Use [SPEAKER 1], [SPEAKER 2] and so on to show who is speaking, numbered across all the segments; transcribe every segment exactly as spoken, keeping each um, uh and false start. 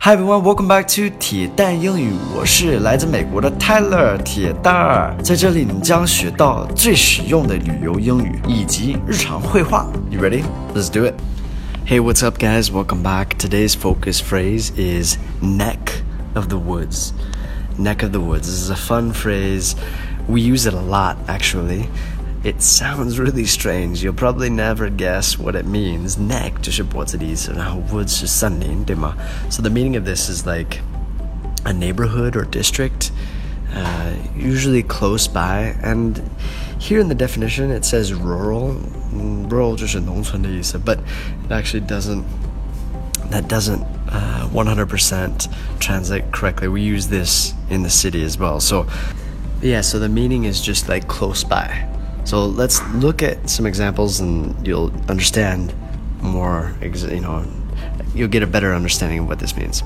[SPEAKER 1] Hi everyone, welcome back to 铁蛋英语，我是来自美国的 Tyler 铁蛋儿，在这里你将学到最实用的旅游英语以及日常会话。You ready? Let's do it. Hey, what's up guys? Welcome back. Today's focus phrase is neck of the woods. Neck of the woods. This is a fun phrase. We use it a lot actually.It sounds really strange. You'll probably never guess what it means. Neck 就是脖子的意思，然后 woods 是森林，对吗？ So the meaning of this is like a neighborhood or district, uh, usually close by. And here in the definition it says rural. Rural 就是农村的意思， but it actually doesn't. That doesn't uh, one hundred percent translate correctly. We use this in the city as well. So yeah, so the meaning is just like close by.So let's look at some examples and you'll understand more, you know, you'll get a better understanding of what this means.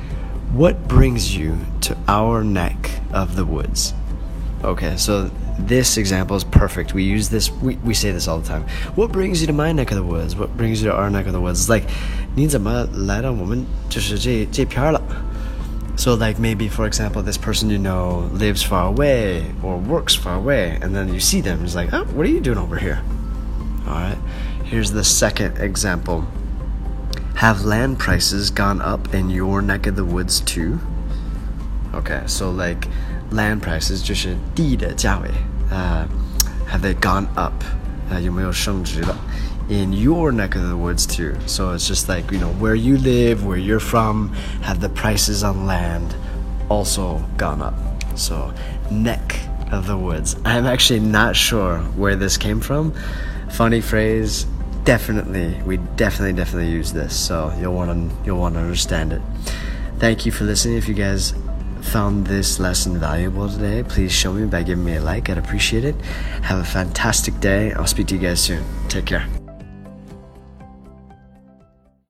[SPEAKER 1] What brings you to our neck of the woods? Okay, so this example is perfect. We use this, we, we say this all the time. What brings you to my neck of the woods? What brings you to our neck of the woods? It's like, 你怎么来到我们就是这这片了? So like maybe, for example, this person you know lives far away or works far away, and then you see them, it's like, oh, what are you doing over here? All right, here's the second example. Have land prices gone up in your neck of the woods too? Okay, so like land prices 就是地的价位, uh, have they gone up? Uh, 有没有升值了? In your neck of the woods too. So it's just like, you know, where you live, where you're from, have the prices on land also gone up. So neck of the woods. I'm actually not sure where this came from. Funny phrase. Definitely, we definitely, definitely use this. So you'll want to, you'll want to understand it. Thank you for listening. If you guys found this lesson valuable today, please show me by giving me a like. I'd appreciate it. Have a fantastic day. I'll speak to you guys soon. Take care.